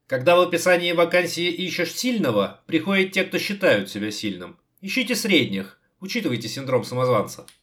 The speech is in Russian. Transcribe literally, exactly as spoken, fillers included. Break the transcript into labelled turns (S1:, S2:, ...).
S1: Когда в описании вакансии ищешь сильного, приходят те, кто считают себя сильным. Ищите средних, учитывайте синдром самозванца.